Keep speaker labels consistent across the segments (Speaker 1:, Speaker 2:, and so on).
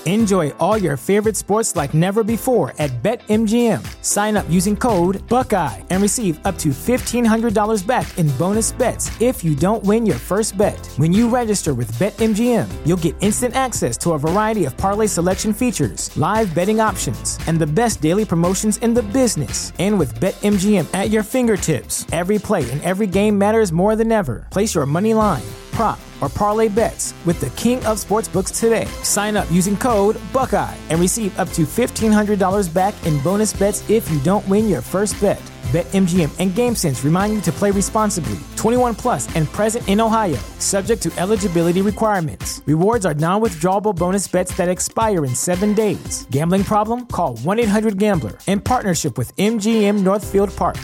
Speaker 1: Enjoy all your favorite sports like never before at BetMGM. Sign up using code Buckeye and receive up to $1,500 back in bonus bets if you don't win your first bet. When you register with BetMGM, you'll get instant access to a variety of parlay selection features, live betting options, and the best daily promotions in the business. And with BetMGM at your fingertips, every play and every game matters more than ever. Place your money line, prop, or parlay bets with the king of sportsbooks today. Sign up using code Buckeye and receive up to $1,500 back in bonus bets if you don't win your first bet. BetMGM and GameSense remind you to play responsibly. 21 plus and present in Ohio, subject to eligibility requirements. Rewards are non-withdrawable bonus bets that expire in 7 days. Gambling problem? Call 1-800-GAMBLER. In partnership with MGM Northfield Park.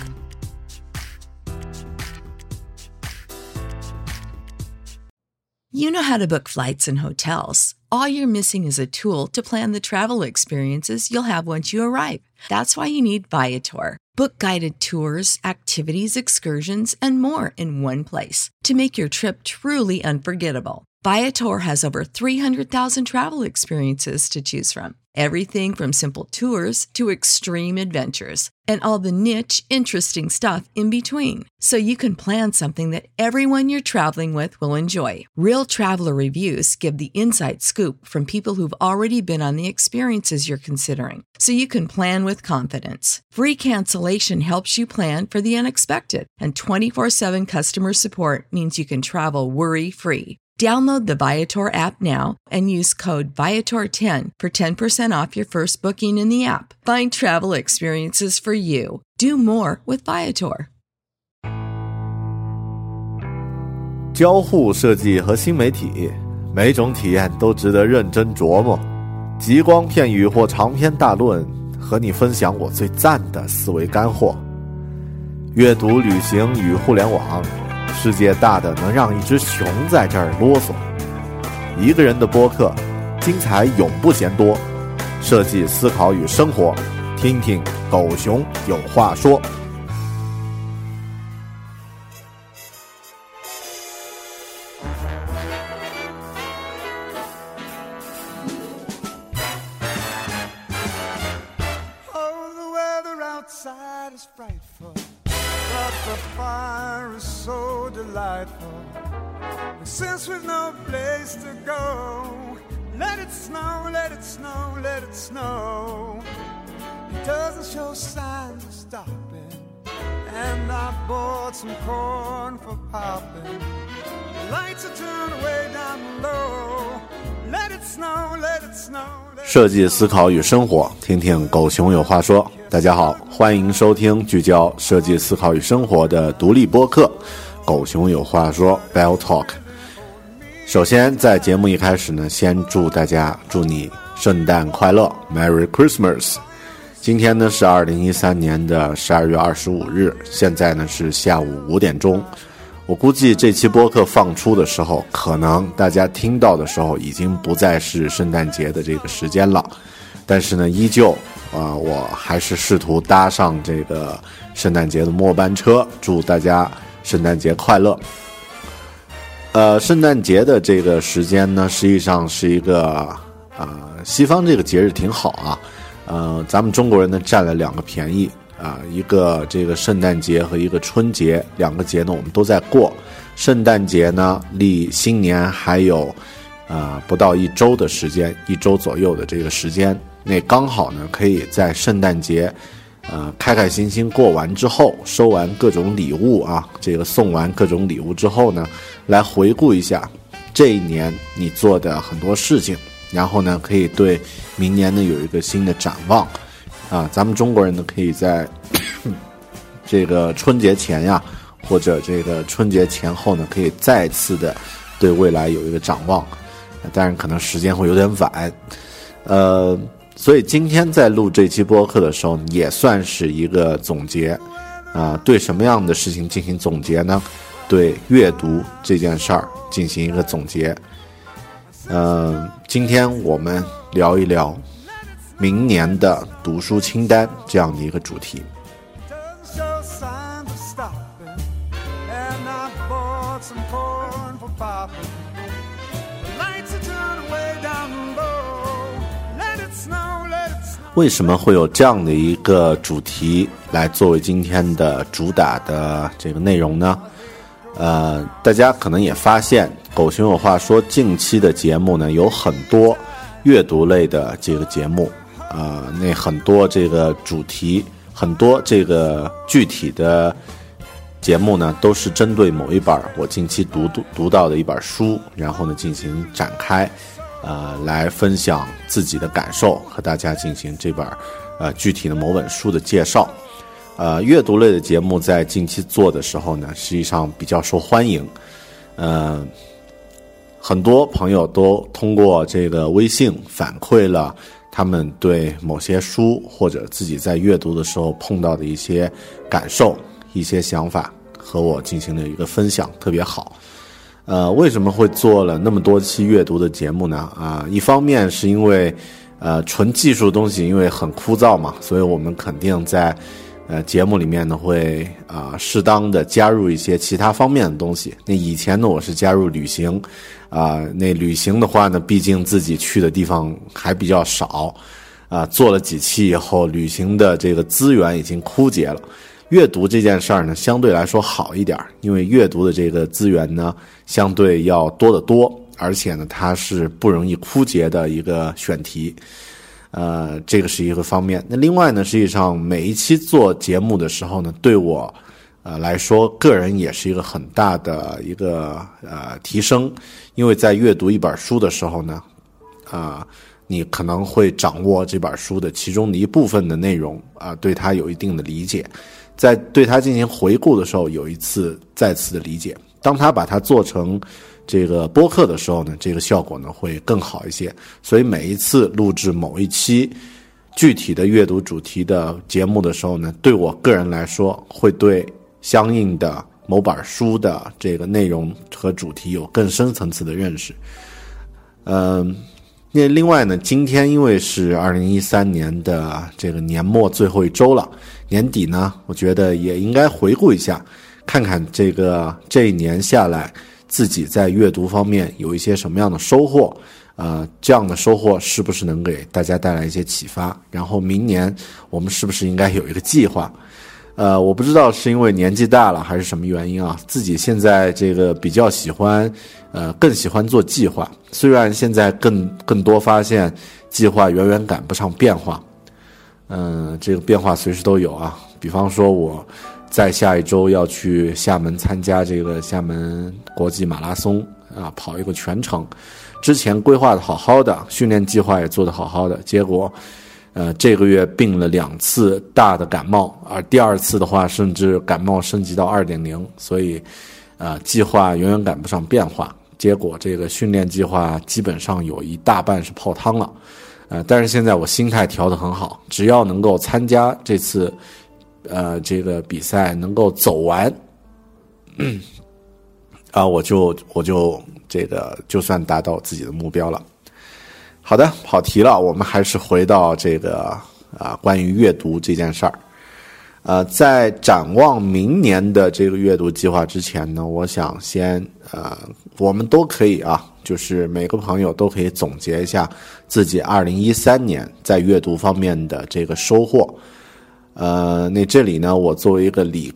Speaker 2: You know how to book flights and hotels. All you're missing is a tool to plan the travel experiences you'll have once you arrive. That's why you need Viator. Book guided tours, activities, excursions, and more in one place to make your trip truly unforgettable. Viator has over 300,000 travel experiences to choose from. Everything from simple tours to extreme adventures and all the niche, interesting stuff in between. So you can plan something that everyone you're traveling with will enjoy. Real traveler reviews give the inside scoop from people who've already been on the experiences you're considering. So you can plan with confidence. Free cancellation helps you plan for the unexpected. And 24/7 customer support means you can travel worry-free. Download the Viator app now and use code Viator10 for 10% off your first booking in the app. Find travel experiences for you. Do more with Viator.
Speaker 3: 交互设计和新媒体，每种体验都值得认真琢磨。极光片语或长篇大论，和你分享我最赞的思维干货。阅读、旅行与互联网，世界大的能让一只熊在这儿啰嗦。一个人的播客，精彩永不嫌多。设计、思考与生活，听听狗熊有话说。
Speaker 4: Since we've no place to go, let it snow, let it snow, let it snow. It doesn't show signs of stopping, and I bought some corn for popping. The lights are turned way down low. Let it snow, let it snow.
Speaker 3: 设计、思考与生活，听听狗熊有话说。大家好，欢迎收听聚焦设计、思考与生活的独立播客狗熊有话说 Bell Talk。 首先在节目一开始呢，先祝你圣诞快乐 Merry Christmas。 今天呢是2013年的12月25日，现在呢是下午5点钟。我估计这期播客放出的时候，可能大家听到的时候已经不再是圣诞节的这个时间了，但是呢依旧我还是试图搭上这个圣诞节的末班车，祝大家圣诞节快乐。圣诞节的这个时间呢，实际上是一个西方这个节日挺好啊，咱们中国人呢占了2个便宜一个这个圣诞节和一个春节，2个节呢我们都在过。圣诞节呢离新年还有不到1周的时间，1周左右的这个时间，那刚好呢可以在圣诞节开开心心过完之后，收完各种礼物这个送完各种礼物之后呢，来回顾一下这一年你做的很多事情，然后呢可以对明年呢有一个新的展望咱们中国人呢可以在这个春节前或者这个春节前后呢，可以再次的对未来有一个展望，当然可能时间会有点晚所以今天在录这期播客的时候也算是一个总结对什么样的事情进行总结呢？对阅读这件事儿进行一个总结。今天我们聊一聊明年的读书清单这样的一个主题。 为什么会有这样的一个主题来作为今天的主打的这个内容呢？大家可能也发现狗熊有话说近期的节目呢有很多阅读类的这个节目，那很多这个主题，很多这个具体的节目呢都是针对某一本我近期读到的一本书，然后呢进行展开，来分享自己的感受，和大家进行这本具体的某本书的介绍。阅读类的节目在近期做的时候呢，实际上比较受欢迎。很多朋友都通过这个微信反馈了他们对某些书或者自己在阅读的时候碰到的一些感受、一些想法，和我进行了一个分享，特别好。为什么会做了那么多期阅读的节目呢？一方面是因为纯技术的东西因为很枯燥嘛，所以我们肯定在节目里面呢会适当的加入一些其他方面的东西。那以前呢我是加入旅行，那旅行的话呢毕竟自己去的地方还比较少，做了几期以后旅行的这个资源已经枯竭了。阅读这件事儿呢相对来说好一点，因为阅读的这个资源呢相对要多得多，而且呢它是不容易枯竭的一个选题。这个是一个方面。那另外呢，实际上每一期做节目的时候呢，对我来说个人也是一个很大的一个提升，因为在阅读一本书的时候呢，你可能会掌握这本书的其中的一部分的内容，对它有一定的理解，在对它进行回顾的时候有再次的理解。当他把它做成这个播客的时候呢，这个效果呢会更好一些。所以每一次录制某一期具体的阅读主题的节目的时候呢，对我个人来说会对相应的某本书的这个内容和主题有更深层次的认识。那另外呢，今天因为是2013年的这个年末最后一周了，年底呢我觉得也应该回顾一下，看看这一年下来自己在阅读方面有一些什么样的收获，这样的收获是不是能给大家带来一些启发，然后明年我们是不是应该有一个计划。我不知道是因为年纪大了还是什么原因啊，自己现在这个比较喜欢更喜欢做计划，虽然现在更多发现计划远远赶不上变化。这个变化随时都有啊，比方说我在下一周要去厦门参加这个厦门国际马拉松跑一个全程，之前规划的好好的，训练计划也做得好好的，结果这个月病了2次大的感冒，而第2次的话甚至感冒升级到 2.0， 所以计划远远赶不上变化，结果这个训练计划基本上有一大半是泡汤了。但是现在我心态调得很好，只要能够参加这次这个比赛能够走完，我就这个就算达到自己的目标了。好的，跑题了，我们还是回到这个关于阅读这件事儿。在展望明年的这个阅读计划之前呢，我想先我们都可以就是每个朋友都可以总结一下自己2013年在阅读方面的这个收获。那这里呢，我作为一个理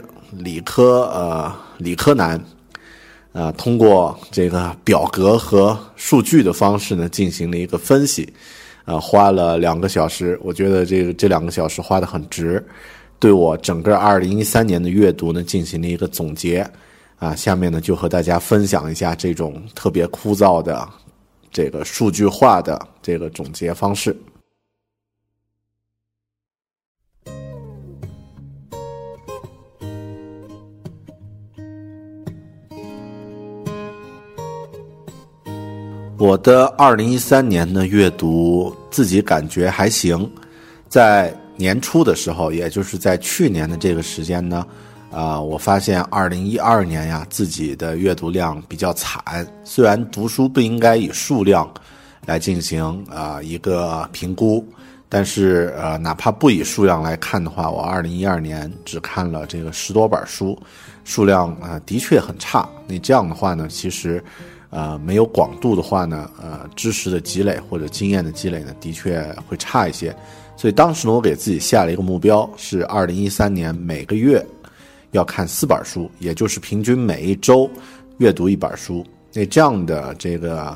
Speaker 3: 科男，通过这个表格和数据的方式呢，进行了一个分析，花了2个小时，我觉得这2个小时花得很值，对我整个2013年的阅读呢进行了一个总结。下面呢就和大家分享一下这种特别枯燥的这个数据化的这个总结方式。我的2013年的阅读自己感觉还行，在年初的时候，也就是在去年的这个时间呢，我发现2012年呀，自己的阅读量比较惨。虽然读书不应该以数量来进行一个评估，但是哪怕不以数量来看的话，我2012年只看了这个10多本书，数量的确很差。那这样的话呢，其实没有广度的话呢，知识的积累或者经验的积累呢，的确会差一些。 所以当时呢，我给自己下了一个目标，是2013年每个月要看4本书，也就是平均每一周阅读1本书。那这样的这个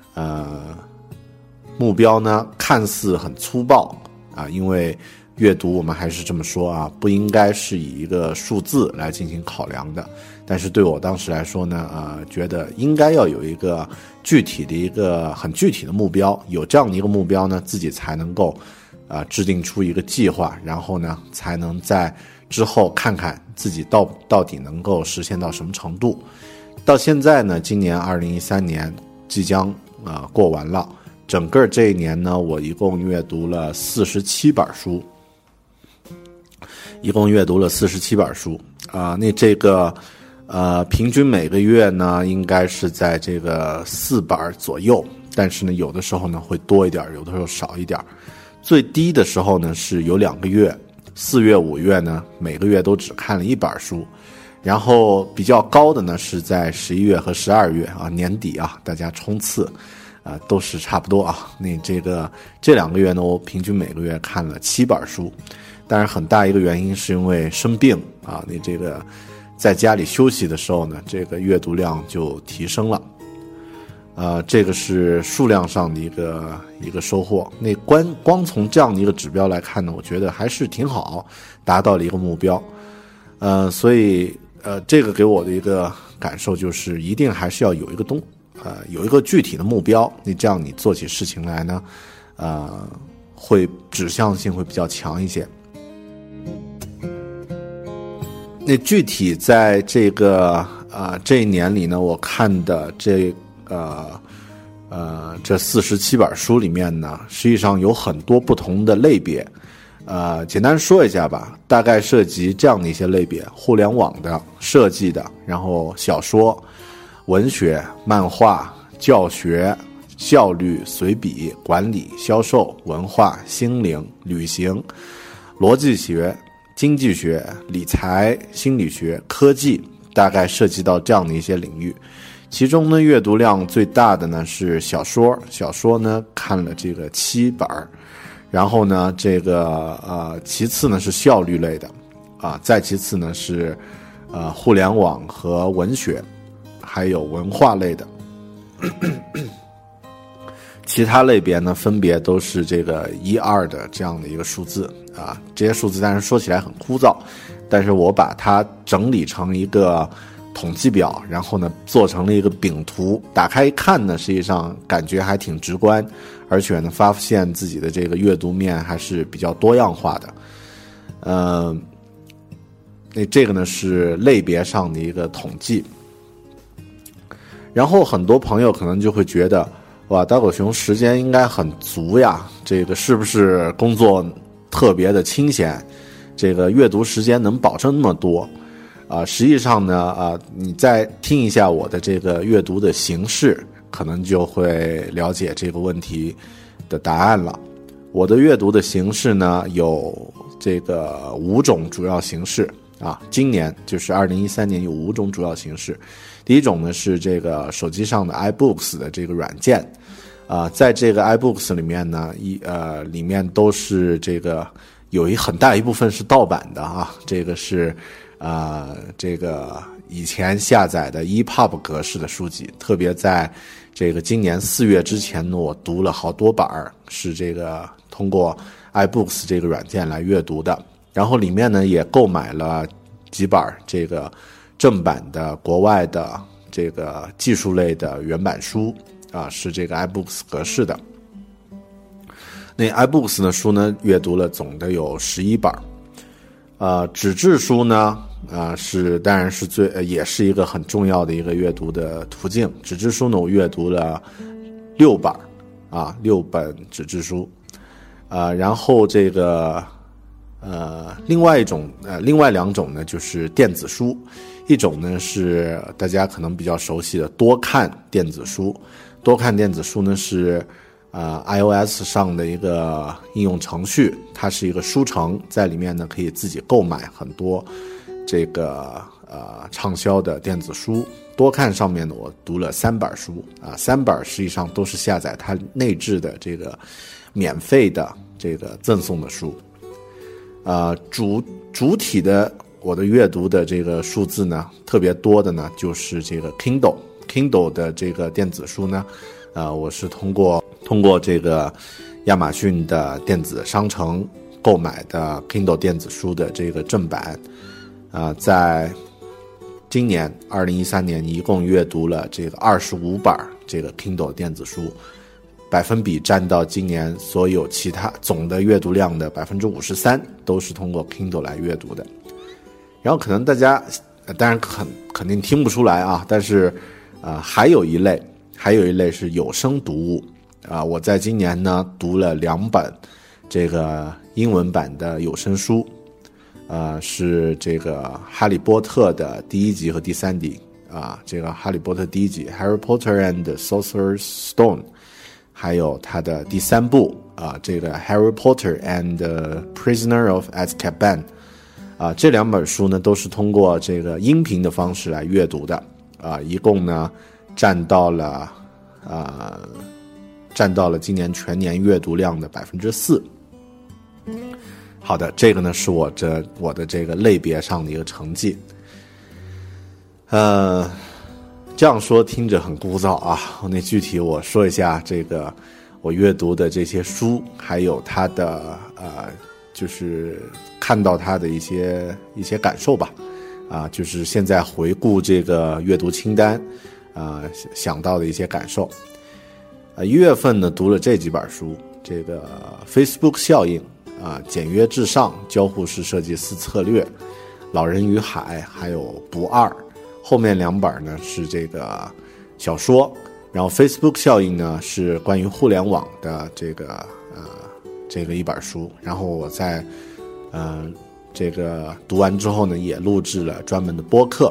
Speaker 3: 目标呢，看似很粗暴啊，因为阅读我们还是这么说啊，不应该是以一个数字来进行考量的。但是对我当时来说呢，觉得应该要有一个具体的一个很具体的目标，有这样的一个目标呢，自己才能够制定出一个计划，然后呢，才能在之后看看自己到底能够实现到什么程度。到现在呢，今年2013年即将过完了，整个这一年呢，我一共阅读了47本书，那这个平均每个月呢，应该是在这个4本左右，但是呢，有的时候呢会多一点，有的时候少一点。最低的时候呢是有2个月，4月、5月呢，每个月都只看了1本书。然后比较高的呢是在11月和12月啊，年底啊，大家冲刺都是差不多啊。那这2个月呢，我平均每个月看了7本书。当然很大一个原因是因为生病啊，那这个在家里休息的时候呢，这个阅读量就提升了。这个是数量上的一个收获。那光从这样的一个指标来看呢，我觉得还是挺好，达到了一个目标。所以这个给我的一个感受就是，一定还是要有一个具体的目标，你这样你做起事情来呢，会指向性会比较强一些。那具体在这一年里呢，我看的这47本书里面呢，实际上有很多不同的类别。简单说一下吧，大概涉及这样的一些类别：互联网的、设计的，然后小说、文学、漫画、教学、效率、随笔、管理、销售、文化、心灵、旅行、逻辑学、经济学、理财、心理学、科技，大概涉及到这样的一些领域。其中呢，阅读量最大的呢是小说呢看了这个7本，然后呢这个其次呢是效率类的再其次呢是互联网和文学，还有文化类的。其他类别呢分别都是这个1、2的这样的一个数字这些数字当然说起来很枯燥，但是我把它整理成一个统计表，然后呢做成了一个饼图，打开一看呢，实际上感觉还挺直观，而且呢发现自己的这个阅读面还是比较多样化的。那这个呢是类别上的一个统计。然后很多朋友可能就会觉得，哇，大狗熊时间应该很足呀，这个是不是工作特别的清闲，这个阅读时间能保证那么多？实际上呢，你再听一下我的这个阅读的形式，可能就会了解这个问题的答案了。我的阅读的形式呢，有这个5种主要形式今年就是2013年有5种主要形式。第一种呢是这个手机上的 iBooks 的这个软件，在这个 iBooks 里面呢，里面都是这个有很大一部分是盗版的这个是这个以前下载的 EPUB 格式的书籍，特别在这个今年4月之前呢，我读了好多本是这个通过 iBooks 这个软件来阅读的。然后里面呢也购买了几本这个正版的国外的这个技术类的原版书是这个 iBooks 格式的。那 iBooks 的书呢阅读了总的有11本。纸质书呢当然是也是一个很重要的一个阅读的途径。纸质书呢我阅读了6本6本纸质书。然后这个另外2种呢就是电子书。一种呢是大家可能比较熟悉的多看电子书。多看电子书呢是iOS 上的一个应用程序，它是一个书城，在里面呢可以自己购买很多这个畅销的电子书。多看上面呢我读了3本书3本实际上都是下载它内置的这个免费的这个赠送的书。主体的我的阅读的这个数字呢，特别多的呢，就是这个 Kindle 的这个电子书呢，我是通过这个亚马逊的电子商城购买的 Kindle 电子书的这个正版，在今年2013年一共阅读了这个25本这个 Kindle 电子书，百分比占到今年所有其他总的阅读量的 53%， 都是通过 Kindle 来阅读的。然后可能大家当然肯定听不出来啊，但是还有一类是有声读物我在今年呢读了2本这个英文版的有声书，是这个哈利波特的第1集和第3集这个哈利波特第1集 Harry Potter and the Sorcerer's Stone， 还有它的第3部这个 Harry Potter and the Prisoner of Azkaban，这2本书呢都是通过这个音频的方式来阅读的一共呢占到了今年全年阅读量的 4%。 好的，这个呢是我的这个类别上的一个成绩。这样说听着很枯燥那具体我说一下这个我阅读的这些书，还有它的就是看到它的一些感受吧。就是现在回顾这个阅读清单想到的一些感受。1月份呢读了这几本书，这个 Facebook 效应简约至上，交互式设计4策略，老人与海，还有不二。后面2本呢是这个小说，然后 Facebook 效应呢是关于互联网的这个一本书。然后我在这个读完之后呢也录制了专门的播客。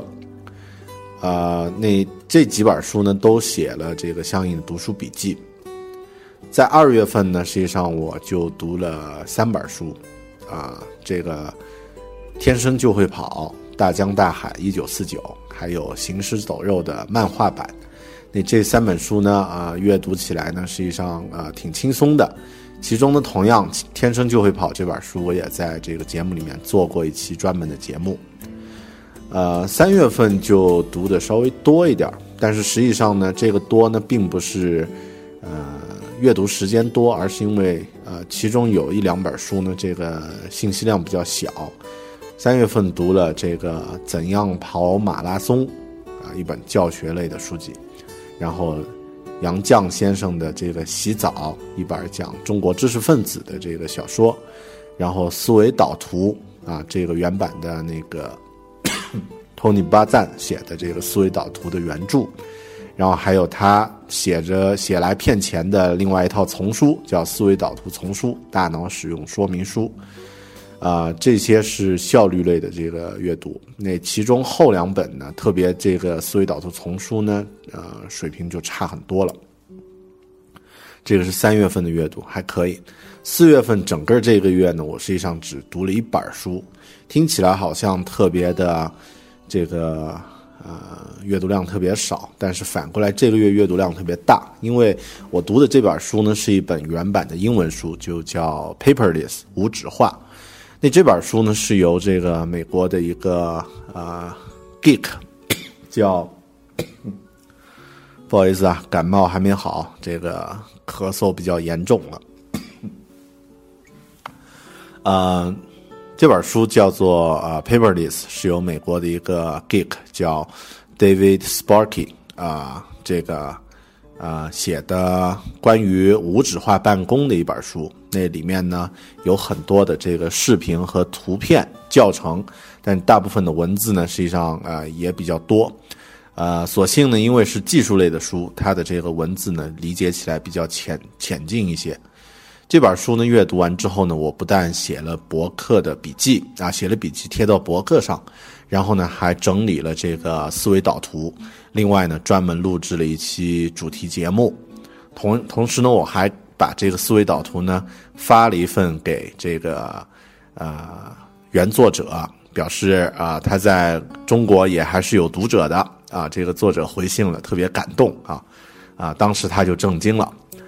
Speaker 3: 这几本书呢都写了这个相应的读书笔记。在2月份呢实际上我就读了3本书这个天生就会跑，大江大海1949，还有行尸走肉的漫画版。这3本书呢阅读起来呢实际上挺轻松的。其中呢同样天生就会跑这本书我也在这个节目里面做过一期专门的节目。3月份就读的稍微多一点，但是实际上呢这个多呢并不是阅读时间多，而是因为其中有1-2本书呢这个信息量比较小。3月份读了这个怎样跑马拉松一本教学类的书籍，然后杨绛先生的这个洗澡，一本讲中国知识分子的这个小说，然后思维导图这个原版的那个托尼巴赞写的这个思维导图的原著，然后还有他写来骗钱的另外一套丛书叫思维导图丛书，大脑使用说明书。这些是效率类的这个阅读。其中后2本呢，特别这个思维导图丛书呢水平就差很多了。这个是3月份的阅读还可以。4月份整个这个月呢我实际上只读了1本书，听起来好像特别的这个阅读量特别少，但是反过来这个月阅读量特别大，因为我读的这本书呢是一本原版的英文书，就叫 Paperless 无纸化。这本书呢是由这个美国的一个geek 叫不好意思感冒还没好，这个咳嗽比较严重了。这本书叫做Paperless， 是由美国的一个 geek 叫 David Sparky 这个写的关于无纸化办公的一本书。那里面呢有很多的这个视频和图片教程，但大部分的文字呢实际上也比较多。所幸呢因为是技术类的书，它的这个文字呢理解起来比较浅近一些。这本书呢阅读完之后呢，我不但写了博客的笔记写了笔记贴到博客上，然后呢还整理了这个思维导图，另外呢专门录制了一期主题节目。同时呢我还把这个思维导图呢发了一份给这个原作者，表示他在中国也还是有读者的这个作者回信了，特别感动当时他就震惊了。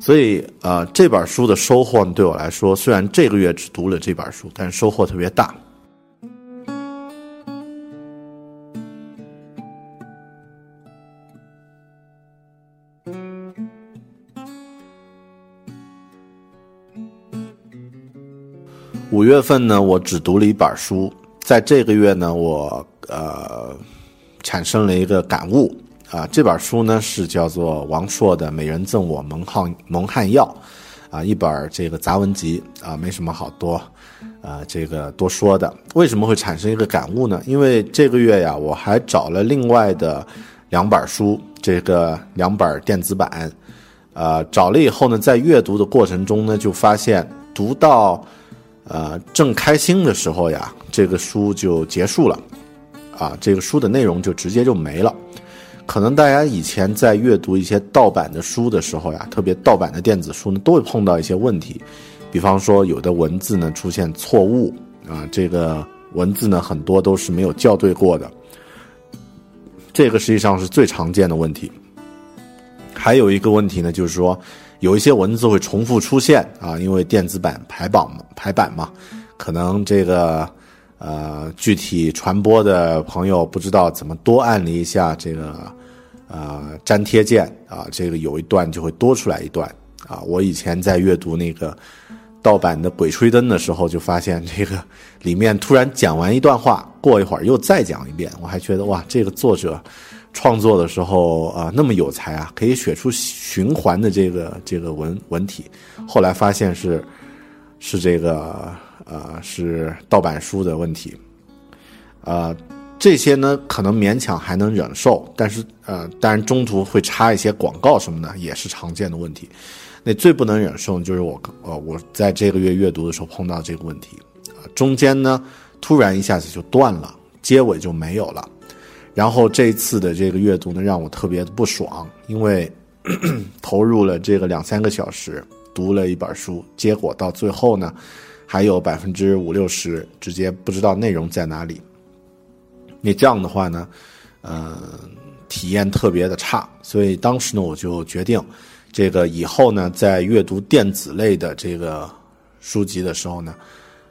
Speaker 3: 所以这本书的收获对我来说，虽然这个月只读了这本书，但是收获特别大。5月份呢，我只读了一本书，在这个月呢，我产生了一个感悟啊。这本书呢是叫做王朔的《美人赠我蒙汗药》啊，一本这个杂文集啊，没什么好多这个多说的。为什么会产生一个感悟呢？因为这个月呀，我还找了另外的2本书，这个2本电子版，找了以后呢，在阅读的过程中呢，就发现读到正开心的时候呀，这个书就结束了啊，这个书的内容就直接就没了。可能大家以前在阅读一些盗版的书的时候呀，特别盗版的电子书呢，都会碰到一些问题，比方说有的文字呢出现错误啊，这个文字呢很多都是没有校对过的，这个实际上是最常见的问题。还有一个问题呢，就是说有一些文字会重复出现啊，因为电子版排版嘛，可能这个具体传播的朋友不知道怎么多按了一下这个粘贴键啊，这个有一段就会多出来一段啊。我以前在阅读那个盗版的《鬼吹灯》的时候，就发现这个里面突然讲完一段话，过一会儿又再讲一遍，我还觉得哇，这个作者创作的时候那么有才啊，可以写出循环的这个文体。后来发现是这个是盗版书的问题。这些呢可能勉强还能忍受，但是当然中途会插一些广告什么的，也是常见的问题。那最不能忍受就是我在这个月阅读的时候碰到这个问题，中间呢突然一下子就断了，结尾就没有了。然后这一次的这个阅读呢，让我特别的不爽，因为投入了这个2-3个小时读了一本书，结果到最后呢，还有50-60%直接不知道内容在哪里。那这样的话呢，体验特别的差，所以当时呢，我就决定，这个以后呢，在阅读电子类的这个书籍的时候呢，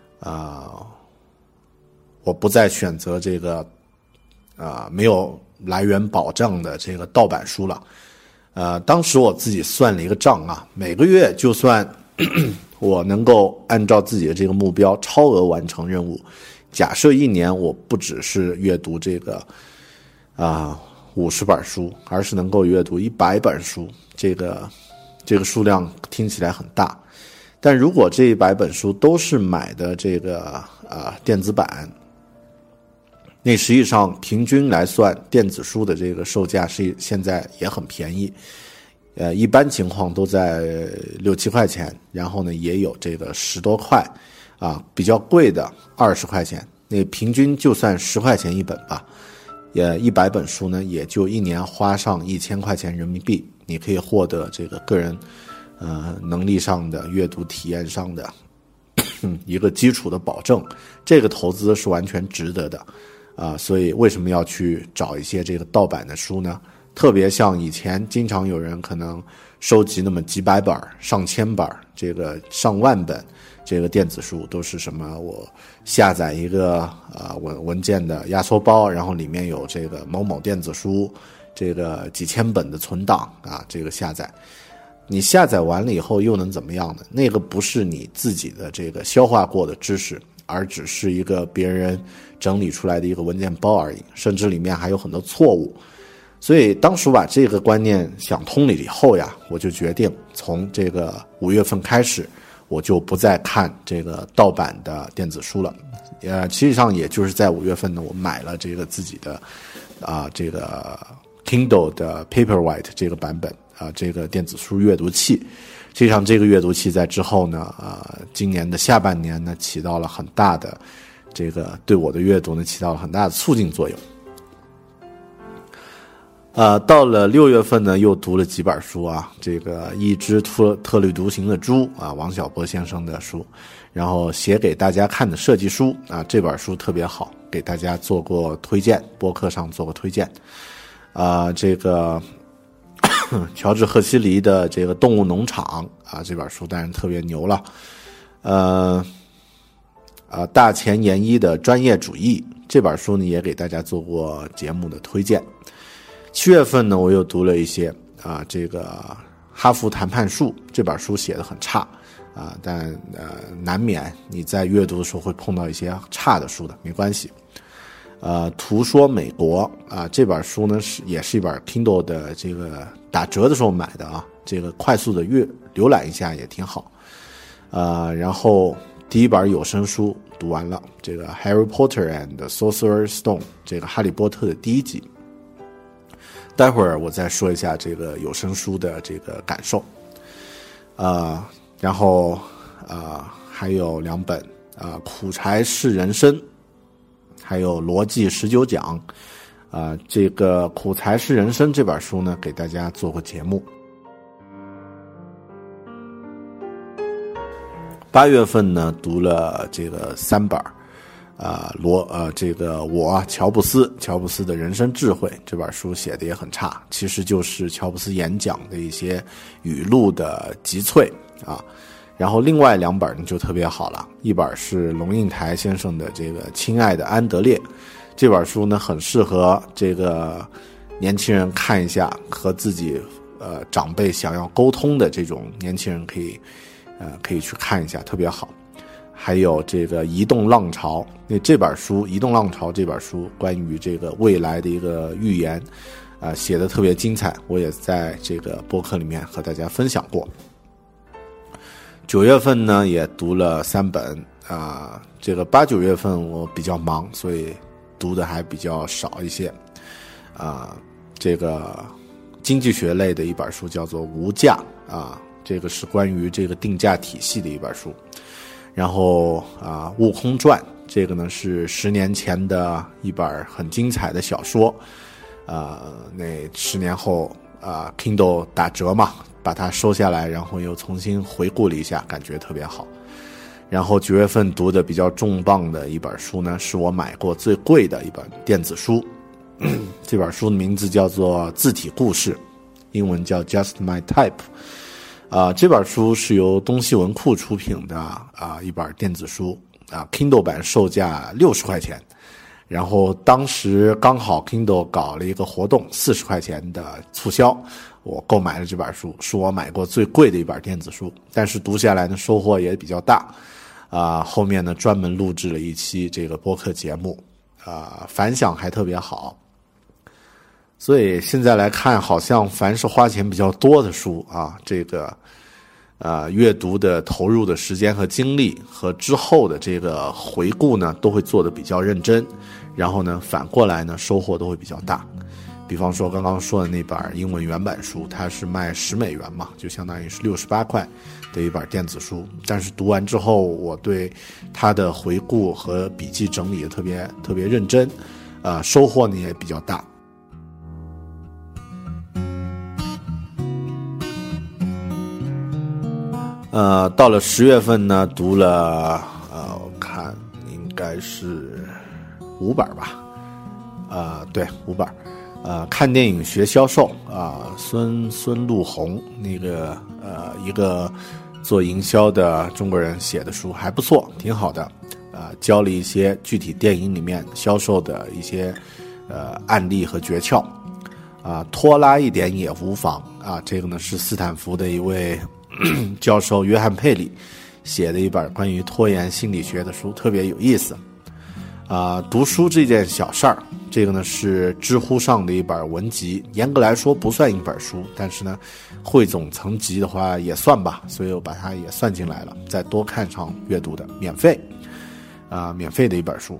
Speaker 3: 我不再选择这个没有来源保障的这个盗版书了。当时我自己算了一个账啊，每个月就算我能够按照自己的这个目标超额完成任务，假设1年我不只是阅读这个50本书，而是能够阅读100本书，这个数量听起来很大，但如果这100本书都是买的这个电子版，那实际上平均来算，电子书的这个售价是现在也很便宜，一般情况都在6-7块钱，然后呢也有这个10多块比较贵的20块钱，那平均就算10块钱一本吧，也100本书呢，也就1年花上1000块钱人民币，你可以获得这个个人能力上的阅读体验上的一个基础的保证，这个投资是完全值得的所以为什么要去找一些这个盗版的书呢？特别像以前经常有人可能收集那么几百本、上千本、这个上万本这个电子书，都是什么我下载一个文件的压缩包，然后里面有这个某某电子书这个几千本的存档这个下载，你下载完了以后又能怎么样呢？那个不是你自己的这个消化过的知识，而只是一个别人整理出来的一个文件包而已，甚至里面还有很多错误。所以当时把这个观念想通了以后呀，我就决定从这个5月份开始，我就不再看这个盗版的电子书了。实际上也就是在5月份呢，我买了这个自己的这个 Kindle 的 Paperwhite 这个版本这个电子书阅读器。实际上这个阅读器在之后呢今年的下半年呢，起到了很大的这个对我的阅读呢起到了很大的促进作用。到了6月份呢，又读了几本书这个一只特立独行的猪王小波先生的书，然后写给大家看的设计书这本书特别好，给大家做过推荐，播客上做过推荐这个乔治·赫西黎的这个《动物农场》啊，这本书当然特别牛了。大前研一的专业主义这本书呢，也给大家做过节目的推荐。7月份呢，我又读了一些这个哈佛谈判术这本书写得很差但难免你在阅读的时候会碰到一些差的书的，没关系。图说美国这本书呢也是一本 Kindle 的这个打折的时候买的这个快速的浏览一下也挺好。然后第一本有声书读完了，这个 Harry Potter and the Sorcerer's Stone 这个哈利波特的第1集。待会儿我再说一下这个有声书的这个感受。然后还有2本苦柴是人生，还有逻辑19讲。这个苦柴是人生这本书呢，给大家做过节目。8月份呢，读了这个3本这个乔布斯的人生智慧这本书写的也很差，其实就是乔布斯演讲的一些语录的集萃然后另外2本就特别好了，一本是龙应台先生的这个亲爱的安德烈，这本书呢很适合这个年轻人看一下，和自己长辈想要沟通的这种年轻人可以去看一下，特别好。还有这个移动浪潮，这本书移动浪潮这本书关于这个未来的一个预言写得特别精彩，我也在这个播客里面和大家分享过。9月份呢也读了3本这个8、9月份我比较忙，所以读的还比较少一些这个经济学类的一本书叫做无价这个是关于这个定价体系的一本书。然后悟空传这个呢是10年前的一本很精彩的小说那10年后Kindle 打折嘛，把它收下来，然后又重新回顾了一下，感觉特别好。然后9月份读的比较重磅的一本书呢，是我买过最贵的一本电子书这本书的名字叫做字体故事，英文叫 Just My Type这本书是由东西文库出品的一本电子书Kindle 版售价60块钱，然后当时刚好 Kindle 搞了一个活动，40块钱的促销，我购买了这本书，是我买过最贵的一本电子书，但是读下来呢收获也比较大后面呢专门录制了一期这个播客节目反响还特别好。所以现在来看，好像凡是花钱比较多的书这个阅读的投入的时间和精力和之后的这个回顾呢，都会做得比较认真，然后呢反过来呢收获都会比较大。比方说刚刚说的那本英文原版书，它是卖$10嘛，就相当于是68块的一本电子书，但是读完之后我对它的回顾和笔记整理特别认真收获呢也比较大。到了10月份呢，读了我看应该是5本吧，对，5本。看电影学销售孙路红那个一个做营销的中国人写的书还不错，挺好的。教了一些具体电影里面销售的一些案例和诀窍拖拉一点也无妨这个呢是斯坦福的一位教授约翰佩里写的一本关于拖延心理学的书，特别有意思读书这件小事儿，这个呢是知乎上的一本文集，严格来说不算一本书，但是呢汇总层级的话也算吧，所以我把它也算进来了，再多看场阅读的免费的一本书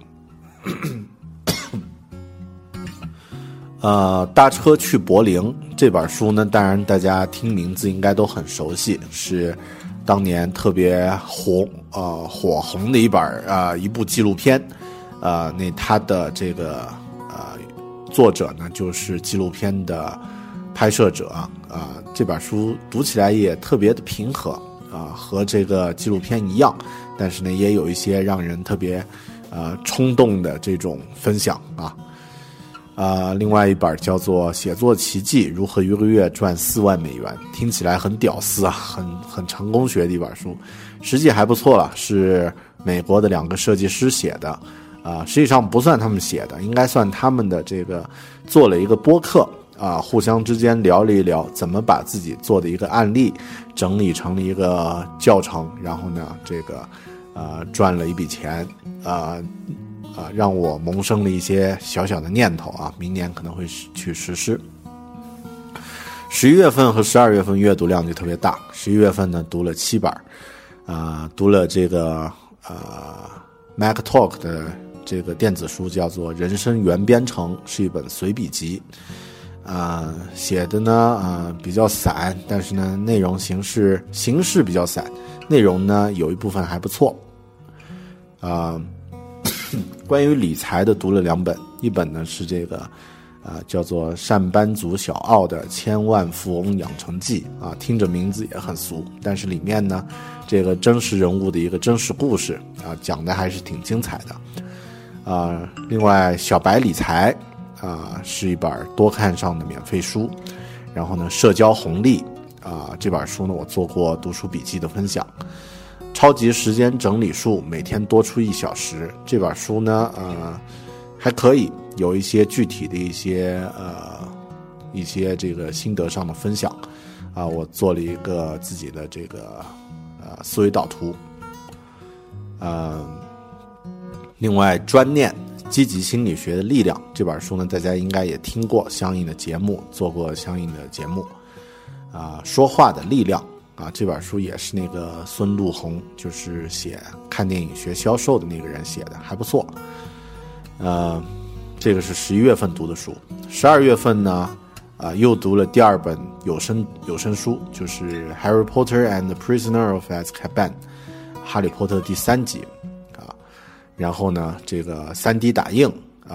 Speaker 3: 搭车去柏林这本书呢，当然大家听名字应该都很熟悉，是当年特别火红的一部纪录片那它的这个作者呢就是纪录片的拍摄者这本书读起来也特别的平和和这个纪录片一样，但是呢也有一些让人特别冲动的这种分享另外一本叫做《写作奇迹：如何一个月赚4万美元》，听起来很屌丝啊，很成功学的一本书，实际还不错了，是美国的2个设计师写的，实际上不算他们写的，应该算他们的这个做了一个播客互相之间聊了一聊怎么把自己做的一个案例整理成了一个教程，然后呢这个赚了一笔钱，让我萌生了一些小小的念头啊，明年可能会去实施。11月份和12月份阅读量就特别大，11月份呢读了7本，读了这个Mac Talk 的这个电子书，叫做《人生原编程》，是一本随笔集，写的呢比较散，但是呢内容形式比较散，内容呢有一部分还不错。关于理财的读了2本，一本呢是这个叫做上班族小奥的千万富翁养成记听着名字也很俗，但是里面呢这个真实人物的一个真实故事讲的还是挺精彩的。另外小白理财是一本多看上的免费书，然后呢社交红利这本书呢我做过读书笔记的分享。超级时间整理术，每天多出1小时，这本书呢还可以有一些具体的一些这个心得上的分享我做了一个自己的这个思维导图。另外专念积极心理学的力量这本书呢大家应该也听过相应的节目，做过相应的节目。说话的力量这本书也是那个孙路红，就是写看电影学销售的那个人写的，还不错。这个是11月份读的书。12月份呢又读了第2本有声书，就是《Harry Potter and the Prisoner of Azkaban》，哈利波特第3集然后呢这个 3D 打印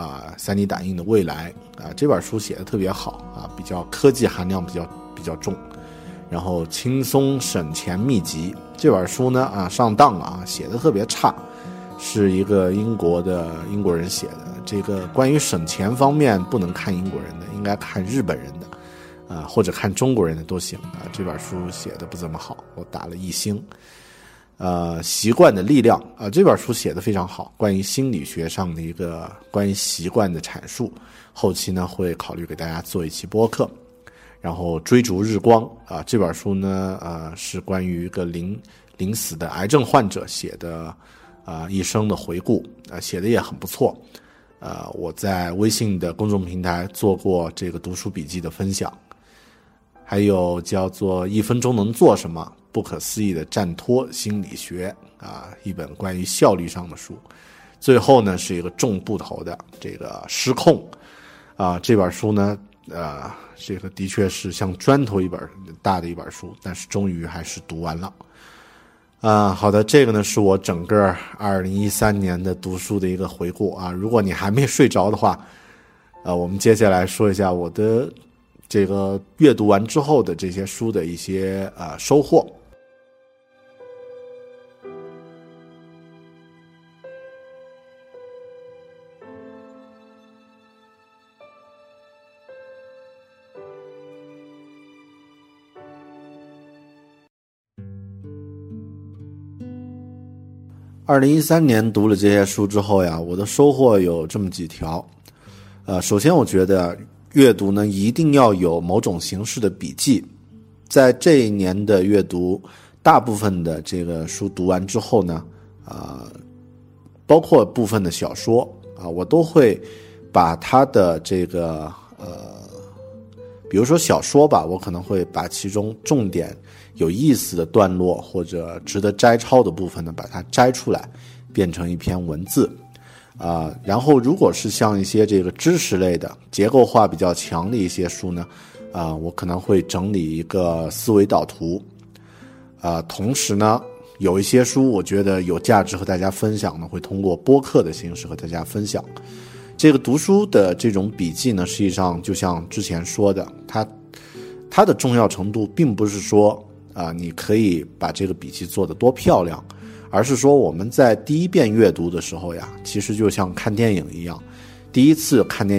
Speaker 3: 3D 打印的未来这本书写的特别好比较科技含量比较重。然后轻松省钱秘籍这本书呢上当写的特别差，是一个英国人写的，这个关于省钱方面不能看英国人的，应该看日本人的或者看中国人的都行这本书写的不怎么好，我打了1星。习惯的力量这本书写的非常好，关于心理学上的一个关于习惯的阐述，后期呢会考虑给大家做一期播客。然后追逐日光这本书呢是关于一个临死的癌症患者写的一生的回顾写的也很不错。我在微信的公众平台做过这个读书笔记的分享。还有叫做1分钟能做什么，不可思议的站脱心理学一本关于效率上的书。最后呢是一个重部头的这个失控这本书呢这个的确是像砖头一本大的一本书，但是终于还是读完了。好的，这个呢是我整个2013年的读书的一个回顾如果你还没睡着的话我们接下来说一下我的这个阅读完之后的这些书的一些收获。2013年读了这些书之后呀，我的收获有这么几条。首先我觉得阅读呢一定要有某种形式的笔记。在这一年的阅读，大部分的这个书读完之后呢包括部分的小说我都会把它的这个比如说小说吧，我可能会把其中重点有意思的段落或者值得摘抄的部分呢，把它摘出来变成一篇文字然后如果是像一些这个知识类的结构化比较强的一些书呢我可能会整理一个思维导图同时呢有一些书我觉得有价值和大家分享呢，会通过播客的形式和大家分享。这个读书的这种笔记呢，实际上就像之前说的，它的重要程度并不是说你可以把这个笔记做得多漂亮，而是说我们在第一遍阅读的时候呀，其实就像看电影一样，第一次看电影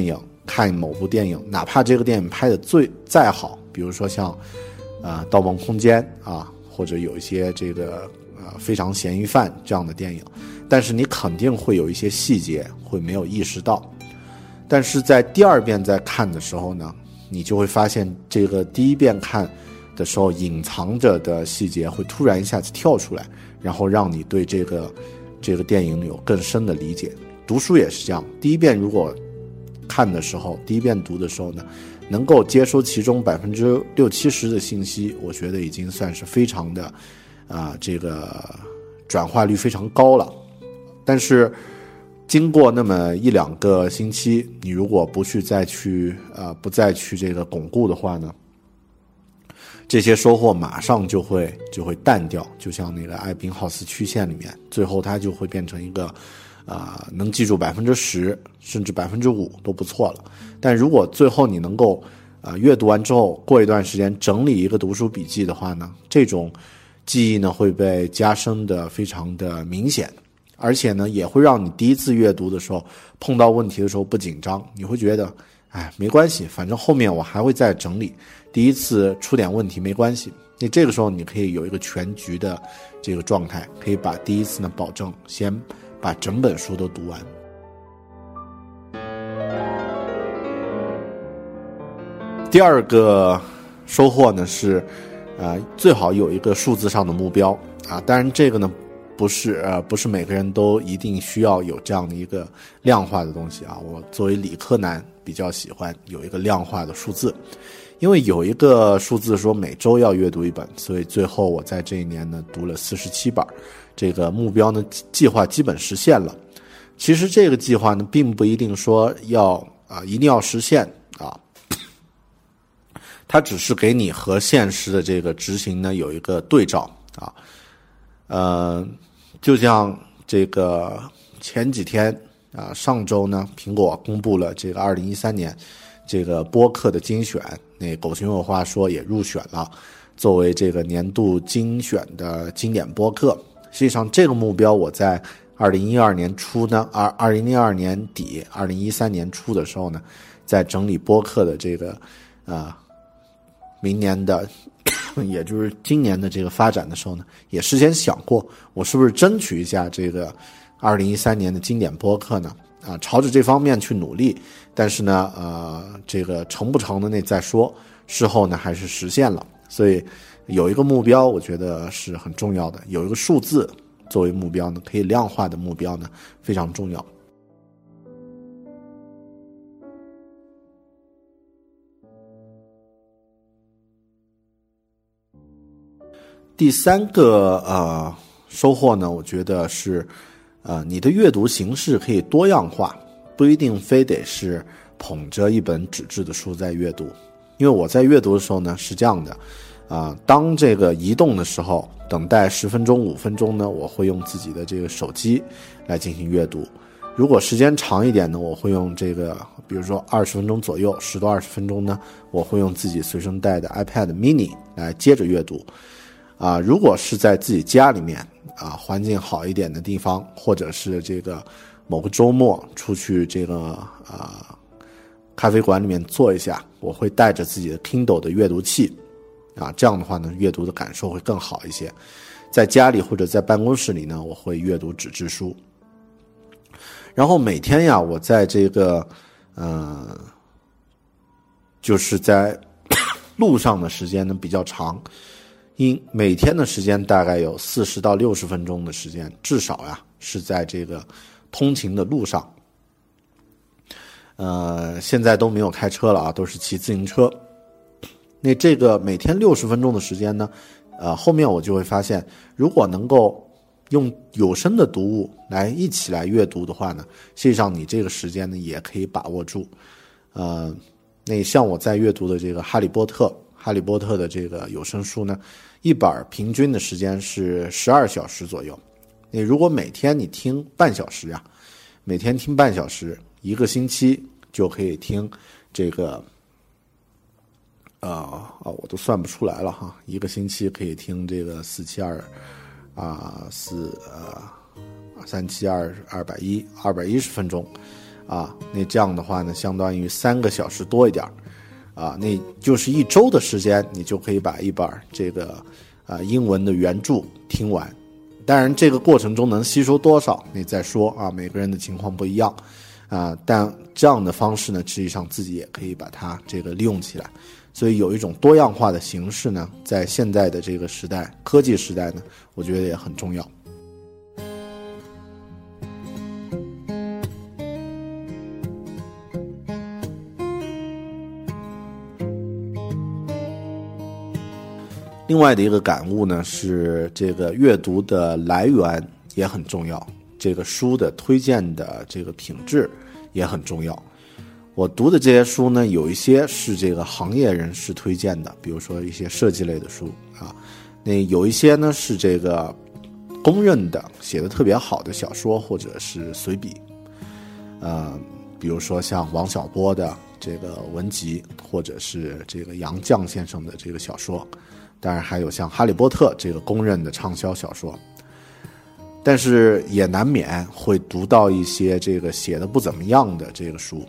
Speaker 3: 看某部电影，哪怕这个电影拍的再好，比如说像盗梦空间啊，或者有一些这个非常嫌疑犯这样的电影，但是你肯定会有一些细节会没有意识到，但是在第二遍再看的时候呢，你就会发现这个第一遍看的时候隐藏着的细节会突然一下子跳出来，然后让你对这个电影有更深的理解。读书也是这样，第一遍如果看的时候，第一遍读的时候呢，能够接收其中60-70%的信息，我觉得已经算是非常的这个转化率非常高了。但是经过那么1-2个星期，你如果不再去这个巩固的话呢，这些收获马上就会淡掉，就像那个艾宾浩斯曲线里面，最后它就会变成一个能记住10%甚至5%都不错了。但如果最后你能够阅读完之后过一段时间整理一个读书笔记的话呢，这种记忆呢会被加深的非常的明显，而且呢也会让你第一次阅读的时候碰到问题的时候不紧张，你会觉得没关系，反正后面我还会再整理，第一次出点问题没关系。那这个时候你可以有一个全局的这个状态，可以把第一次呢保证先把整本书都读完。第二个收获呢是最好有一个数字上的目标当然这个呢不是每个人都一定需要有这样的一个量化的东西我作为理科男比较喜欢有一个量化的数字，因为有一个数字说每周要阅读一本，所以最后我在这一年呢读了47本，这个目标呢计划基本实现了。其实这个计划呢并不一定说一定要实现它只是给你和现实的这个执行呢有一个对照就像这个前几天上周呢苹果公布了这个2013年这个播客的精选，那狗熊有话说也入选了作为这个年度精选的经典播客。实际上这个目标我在2012年初呢2012年底2013年初的时候呢，在整理播客的这个明年的也就是今年的这个发展的时候呢，也事先想过我是不是争取一下这个2013年的经典播客呢朝着这方面去努力，但是呢这个成不成的那再说，事后呢还是实现了。所以有一个目标我觉得是很重要的，有一个数字作为目标呢，可以量化的目标呢非常重要。第三个收获呢，我觉得是你的阅读形式可以多样化，不一定非得是捧着一本纸质的书在阅读。因为我在阅读的时候呢是这样的当这个移动的时候，等待10分钟5分钟呢，我会用自己的这个手机来进行阅读。如果时间长一点呢，我会用这个比如说20分钟左右10到20分钟呢，我会用自己随身带的 iPad mini 来接着阅读如果是在自己家里面环境好一点的地方，或者是这个某个周末出去这个咖啡馆里面坐一下，我会带着自己的 Kindle 的阅读器这样的话呢阅读的感受会更好一些。在家里或者在办公室里呢，我会阅读纸质书。然后每天我在这个就是在路上的时间呢比较长，每天的时间大概有40到60分钟的时间，至少是在这个通勤的路上。现在都没有开车了都是骑自行车。那这个每天60分钟的时间呢，后面我就会发现，如果能够用有声的读物来一起来阅读的话呢，实际上你这个时间呢也可以把握住。那像我在阅读的这个哈利波特的这个有声书呢，一本平均的时间是12小时左右。你如果每天你听半小时每天听半小时，1个星期就可以听这个我都算不出来了1个星期可以听这个472372 210分钟啊，那这样的话呢，相当于3个小时多一点啊，那就是1周的时间，你就可以把一本这个英文的原著听完。当然，这个过程中能吸收多少，你再说啊，每个人的情况不一样啊。但这样的方式呢，实际上自己也可以把它这个利用起来。所以有一种多样化的形式呢，在现在的这个时代，科技时代呢，我觉得也很重要。另外的一个感悟呢，是这个阅读的来源也很重要，这个书的推荐的这个品质也很重要。我读的这些书呢，有一些是这个行业人士推荐的，比如说一些设计类的书啊，那有一些呢是这个公认的写得特别好的小说或者是随笔，比如说像王小波的这个文集，或者是这个杨绛先生的这个小说。当然还有像哈利波特这个公认的畅销小说，但是也难免会读到一些这个写的不怎么样的这个书。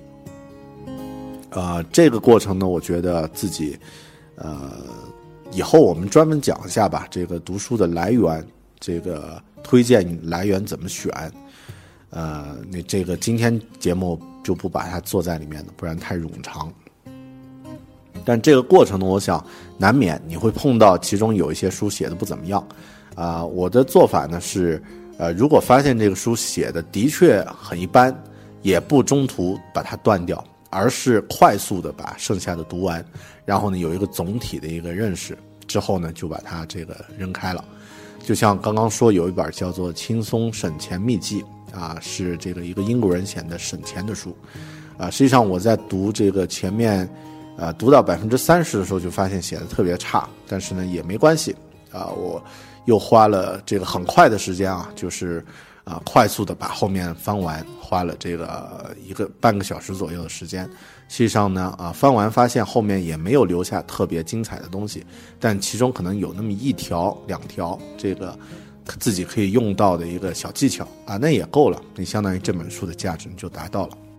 Speaker 3: 这个过程呢，我觉得自己以后我们专门讲一下吧，这个读书的来源，这个推荐来源怎么选。那这个今天节目就不把它做在里面了，不然太冗长。但这个过程呢，我想难免你会碰到其中有一些书写的不怎么样我的做法呢是如果发现这个书写的的确很一般，也不中途把它断掉，而是快速的把剩下的读完，然后呢有一个总体的一个认识之后呢，就把它这个扔开了。就像刚刚说有一本叫做《轻松省钱秘籍》是这个一个英国人写的省钱的书实际上我在读这个前面读到30%的时候就发现写的特别差，但是呢也没关系我又花了这个很快的时间就是快速的把后面翻完，花了这个半个小时左右的时间。实际上呢翻完发现后面也没有留下特别精彩的东西，但其中可能有那么1条2条这个自己可以用到的一个小技巧那也够了，你相当于这本书的价值就达到了。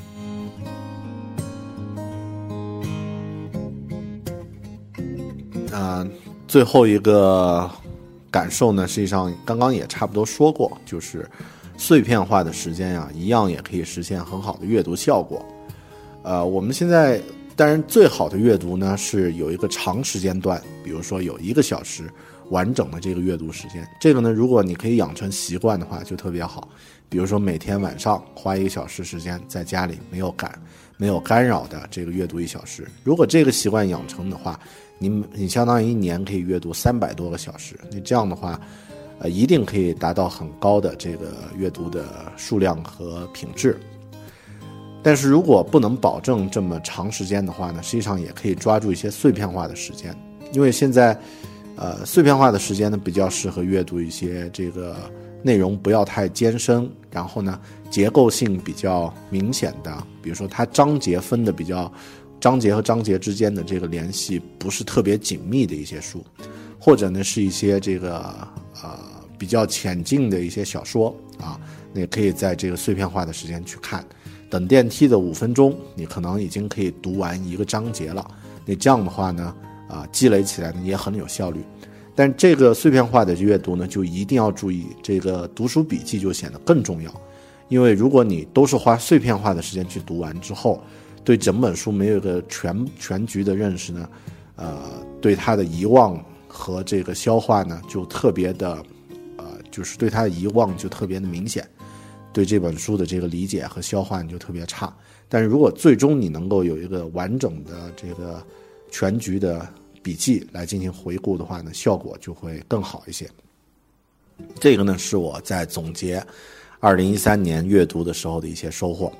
Speaker 3: 最后一个感受呢，实际上刚刚也差不多说过，就是碎片化的时间一样也可以实现很好的阅读效果。我们现在当然最好的阅读呢是有一个长时间段，比如说有1个小时完整的这个阅读时间。这个呢，如果你可以养成习惯的话，就特别好。比如说每天晚上花1个小时时间在家里没有干扰的这个阅读1小时。如果这个习惯养成的话，你相当于1年可以阅读300多个小时。你这样的话，一定可以达到很高的这个阅读的数量和品质。但是如果不能保证这么长时间的话呢，实际上也可以抓住一些碎片化的时间，因为现在碎片化的时间呢比较适合阅读一些这个内容不要太艰深，然后呢结构性比较明显的，比如说它章节分的比较，章节和章节之间的这个联系不是特别紧密的一些书，或者呢是一些这个比较浅近的一些小说你可以在这个碎片化的时间去看，等电梯的5分钟你可能已经可以读完1个章节了。你这样的话呢积累起来呢也很有效率。但这个碎片化的阅读呢，就一定要注意，这个读书笔记就显得更重要。因为如果你都是花碎片化的时间去读完之后，对整本书没有一个全局的认识呢，对它的遗忘和这个消化呢，就特别的，就是对它的遗忘就特别的明显，对这本书的这个理解和消化就特别差。但是如果最终你能够有一个完整的这个全局的笔记来进行回顾的话呢，效果就会更好一些。这个呢是我在总结2013年阅读的时候的一些收获。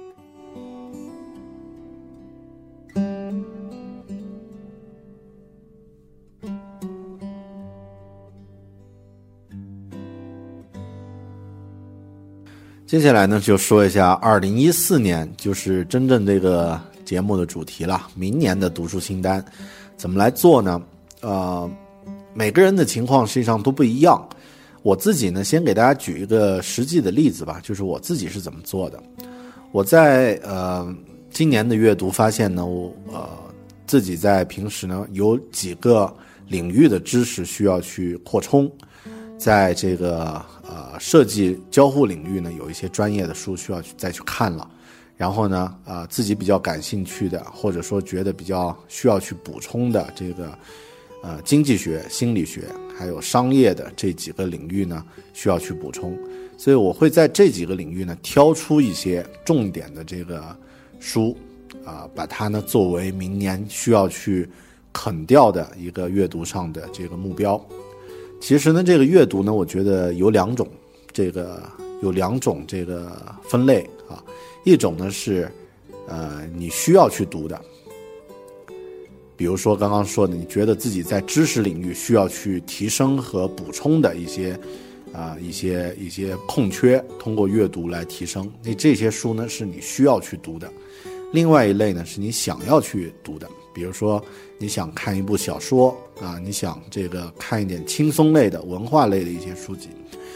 Speaker 3: 接下来呢就说一下2014年，就是真正这个节目的主题了，明年的读书清单怎么来做呢？每个人的情况实际上都不一样。我自己呢先给大家举一个实际的例子吧，就是我自己是怎么做的。 我在今年的阅读发现呢，我自己在平时呢有几个领域的知识需要去扩充，在这个设计交互领域呢，有一些专业的书需要再去看了。然后呢，自己比较感兴趣的，或者说觉得比较需要去补充的这个经济学、心理学还有商业的这几个领域呢，需要去补充。所以我会在这几个领域呢挑出一些重点的这个书把它呢作为明年需要去啃掉的一个阅读上的这个目标。其实呢，这个阅读呢，我觉得有两种这个分类啊。一种呢是你需要去读的，比如说刚刚说的，你觉得自己在知识领域需要去提升和补充的一些空缺，通过阅读来提升。那这些书呢是你需要去读的。另外一类呢是你想要去读的，比如说你想看一部小说你想这个看一点轻松类的文化类的一些书籍。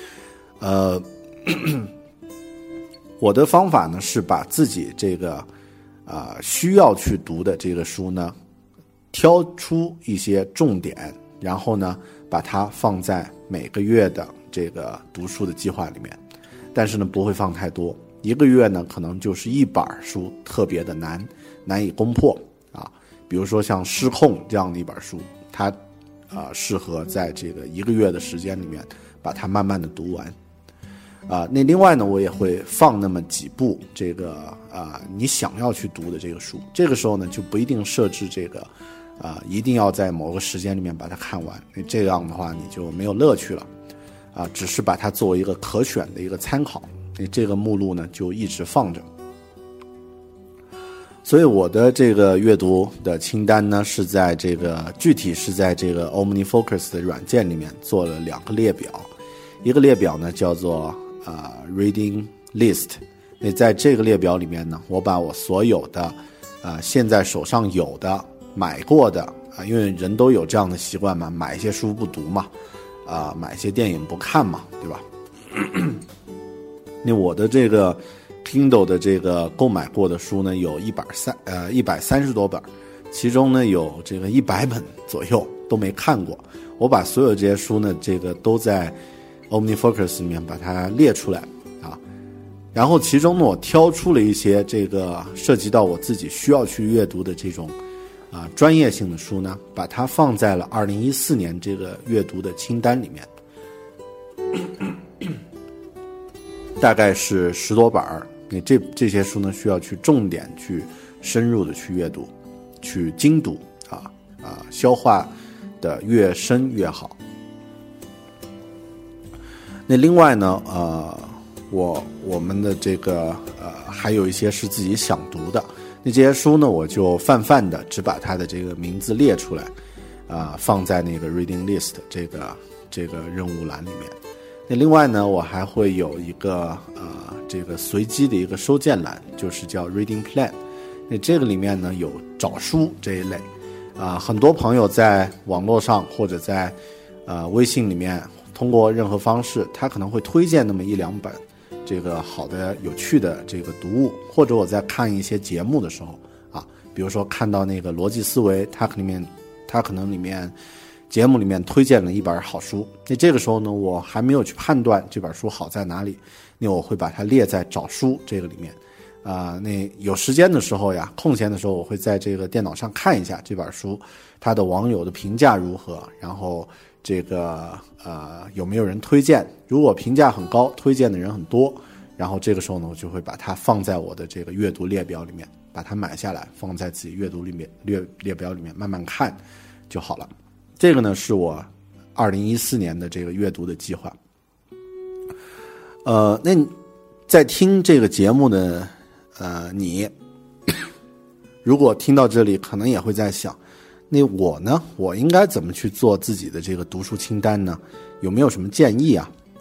Speaker 3: 我的方法呢是把自己这个需要去读的这个书呢挑出一些重点，然后呢把它放在每个月的这个读书的计划里面，但是呢不会放太多，一个月呢可能就是一本书特别的难以攻破比如说像《失控》这样的一本书，它适合在这个一个月的时间里面把它慢慢的读完。那另外呢，我也会放那么几部这个你想要去读的这个书，这个时候呢就不一定设置这个一定要在某个时间里面把它看完，这样的话你就没有乐趣了只是把它作为一个可选的一个参考，这个目录呢就一直放着。所以我的这个阅读的清单呢是在这个具体是在这个 OmniFocus 的软件里面做了2个列表，一个列表呢叫做Reading List。 那在这个列表里面呢，我把我所有的现在手上有的买过的因为人都有这样的习惯嘛，买一些书不读嘛买一些电影不看嘛，对吧那我的这个 Kindle 的这个购买过的书呢有130多本，其中呢有这个100本左右都没看过。我把所有这些书呢这个都在 OmniFocus 里面把它列出来然后其中呢我挑出了一些这个涉及到我自己需要去阅读的这种专业性的书呢，把它放在了2014年这个阅读的清单里面，大概是10多本。这些书呢需要去重点去深入的去阅读，去精读消化的越深越好。那另外呢我们的这个还有一些是自己想读的，那这些书呢我就泛的只把它的这个名字列出来放在那个 Reading List 这个任务栏里面。那另外呢我还会有一个这个随机的一个收件栏，就是叫 Reading Plan。 那这个里面呢有找书这一类很多朋友在网络上或者在微信里面通过任何方式，他可能会推荐那么1-2本这个好的有趣的这个读物，或者我在看一些节目的时候比如说看到那个逻辑思维，它可能里面节目里面推荐了一本好书，那这个时候呢我还没有去判断这本书好在哪里，那我会把它列在找书这个里面那有时间的时候呀，空闲的时候，我会在这个电脑上看一下这本书它的网友的评价如何，然后这个有没有人推荐，如果评价很高，推荐的人很多，然后这个时候呢我就会把它放在我的这个阅读列表里面，把它买下来放在自己阅读里面列表里面慢慢看就好了。这个呢是我2014年的这个阅读的计划。那在听这个节目的你如果听到这里可能也会在想，那我呢我应该怎么去做自己的这个读书清单呢？有没有什么建议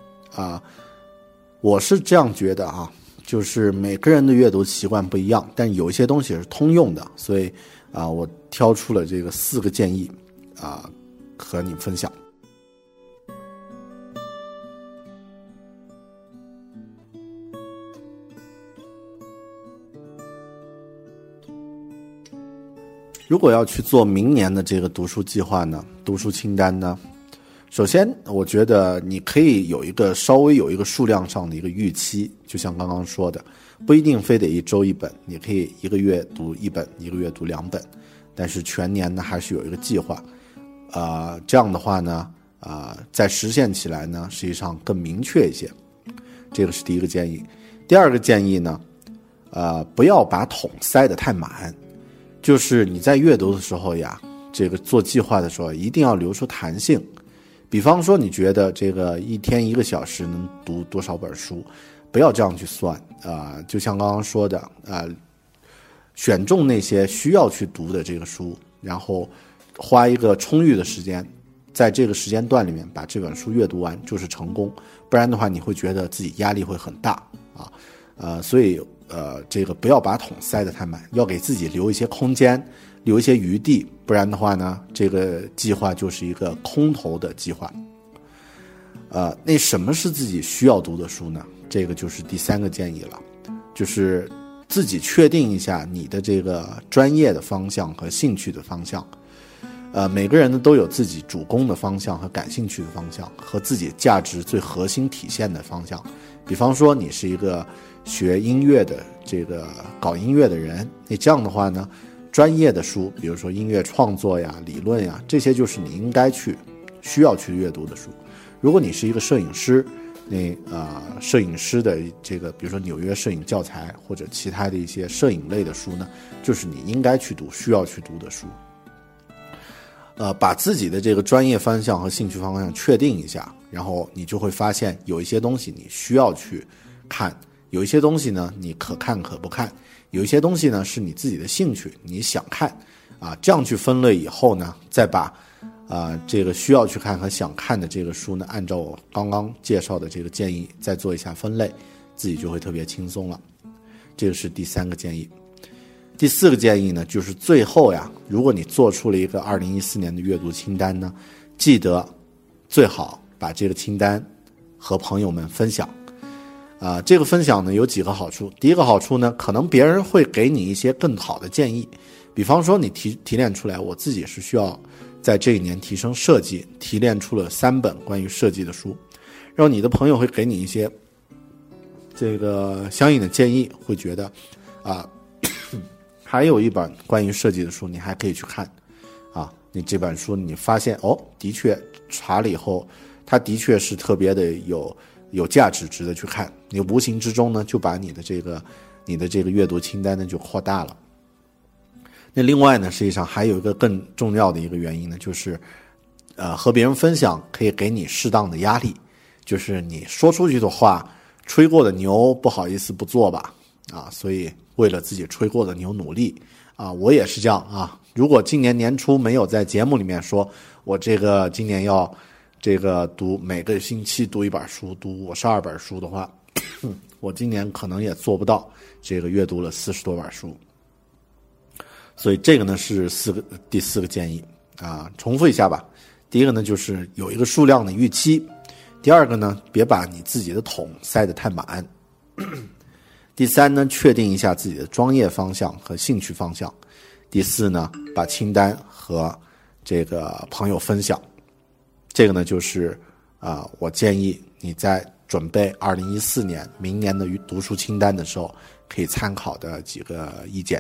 Speaker 3: 我是这样觉得就是每个人的阅读习惯不一样，但有一些东西是通用的，所以我挑出了这个4个建议和你分享。 如果要去做明年的这个读书计划呢，读书清单呢，首先我觉得你可以稍微有一个数量上的一个预期，就像刚刚说的，不一定非得一周一本，你可以一个月读一本，一个月读2本，但是全年呢还是有一个计划，这样的话呢，在实现起来呢，实际上更明确一些。这个是第一个建议。第二个建议呢，不要把桶塞得太满，就是你在阅读的时候呀，这个做计划的时候一定要留出弹性。比方说你觉得这个一天1个小时能读多少本书，不要这样去算，就像刚刚说的，选中那些需要去读的这个书，然后花一个充裕的时间，在这个时间段里面把这本书阅读完就是成功，不然的话你会觉得自己压力会很大所以这个不要把桶塞得太满，要给自己留一些空间，留一些余地，不然的话呢，这个计划就是一个空头的计划。那什么是自己需要读的书呢？这个就是第3个建议了，就是自己确定一下你的这个专业的方向和兴趣的方向。每个人呢都有自己主攻的方向和感兴趣的方向，和自己价值最核心体现的方向。比方说你是一个学音乐的这个搞音乐的人，那这样的话呢，专业的书，比如说音乐创作呀、理论呀，这些就是你应该需要去阅读的书。如果你是一个摄影师，那摄影师的这个，比如说纽约摄影教材或者其他的一些摄影类的书呢，就是你应该去读、需要去读的书。把自己的这个专业方向和兴趣方向确定一下，然后你就会发现有一些东西你需要去看，有一些东西呢你可看可不看，有一些东西呢是你自己的兴趣你想看这样去分类以后呢，再把这个需要去看和想看的这个书呢，按照我刚刚介绍的这个建议再做一下分类，自己就会特别轻松了。这个是第3个建议。第4个建议呢，就是最后呀，如果你做出了一个2014年的阅读清单呢，记得最好把这个清单和朋友们分享。这个分享呢有几个好处。第一个好处呢，可能别人会给你一些更好的建议，比方说你提炼出来，我自己是需要在这一年提升设计，提炼出了3本关于设计的书，然后你的朋友会给你一些这个相应的建议，会觉得还有一本关于设计的书你还可以去看你这本书你发现的确查了以后它的确是特别的有价值，值得去看，你无形之中呢就把你的这个阅读清单呢就扩大了。那另外呢，实际上还有一个更重要的一个原因呢，就是和别人分享可以给你适当的压力，就是你说出去的话，吹过的牛不好意思不做吧所以为了自己吹过的牛努力我也是这样如果今年年初没有在节目里面说我这个今年要这个每个星期读1本书，读52本书的话我今年可能也做不到这个阅读了40多本书。所以这个呢是第4个建议重复一下吧。第一个呢就是有一个数量的预期，第二个呢别把你自己的桶塞得太满，第3呢确定一下自己的专业方向和兴趣方向，第4呢把清单和这个朋友分享。这个呢就是我建议你在准备2014年明年的读书清单的时候可以参考的几个意见。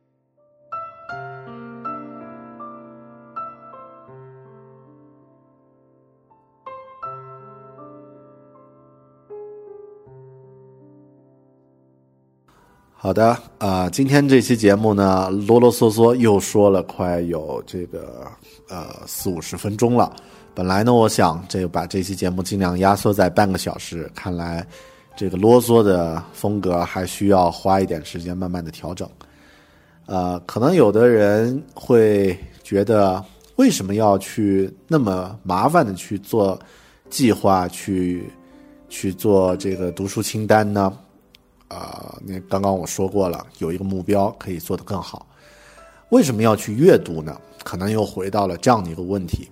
Speaker 3: 好的今天这期节目呢啰啰嗦嗦又说了快有这个40-50分钟了。本来呢我想把这期节目尽量压缩在半个小时，看来这个啰嗦的风格还需要花一点时间慢慢的调整。可能有的人会觉得为什么要去那么麻烦的去做计划，去做这个读书清单呢？那刚刚我说过了，有一个目标可以做得更好。为什么要去阅读呢？可能又回到了这样的一个问题。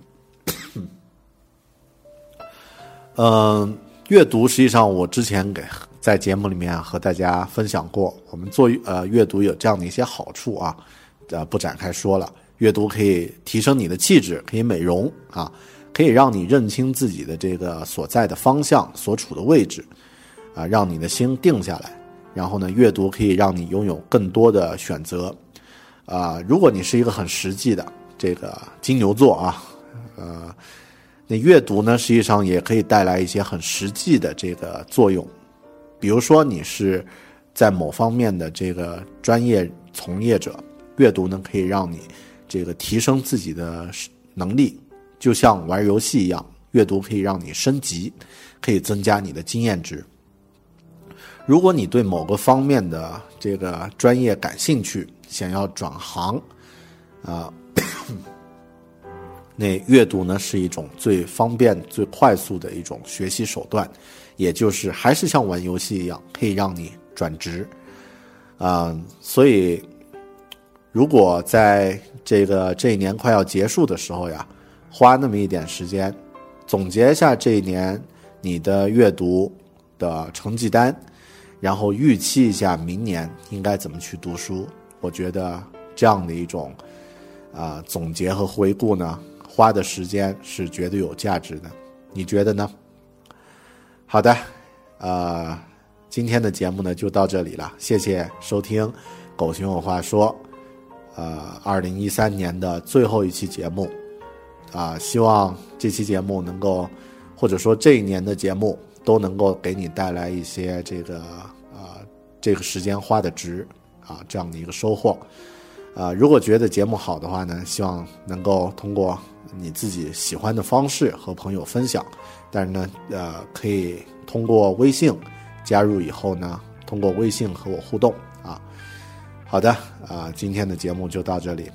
Speaker 3: 阅读实际上我之前在节目里面和大家分享过，我们做阅读有这样的一些好处不展开说了。 阅读可以提升你的气质，可以美容啊，可以让你认清自己的这个所在的方向，所处的位置啊，让你的心定下来。然后呢，阅读可以让你拥有更多的选择啊。如果你是一个很实际的这个金牛座啊，那阅读呢，实际上也可以带来一些很实际的这个作用。比如说你是在某方面的这个专业从业者，阅读呢可以让你这个提升自己的能力，就像玩游戏一样，阅读可以让你升级，可以增加你的经验值。如果你对某个方面的这个专业感兴趣，想要转行那阅读呢是一种最方便最快速的一种学习手段，也就是还是像玩游戏一样，可以让你转职所以如果在这一年快要结束的时候呀，花那么一点时间总结一下这一年你的阅读的成绩单，然后预期一下明年应该怎么去读书，我觉得这样的一种总结和回顾呢，花的时间是绝对有价值的，你觉得呢？好的，今天的节目呢就到这里了，谢谢收听狗熊有话说2013年的最后一期节目希望这期节目能够，或者说这一年的节目都能够给你带来一些这个时间花的值这样的一个收获如果觉得节目好的话呢，希望能够通过你自己喜欢的方式和朋友分享，但是呢可以通过微信加入以后呢，通过微信和我互动好的今天的节目就到这里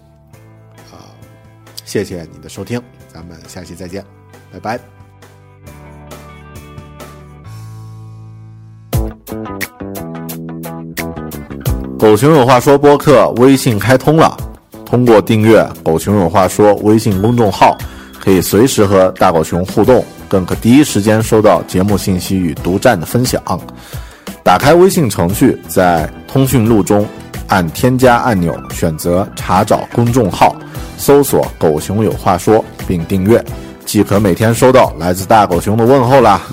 Speaker 3: 谢谢你的收听，咱们下期再见，拜拜。狗熊有话说播客微信开通了，通过订阅狗熊有话说微信公众号，可以随时和大狗熊互动，更可第一时间收到节目信息与独占的分享。打开微信程序，在通讯录中按添加按钮，选择查找公众号，搜索狗熊有话说并订阅，即可每天收到来自大狗熊的问候啦。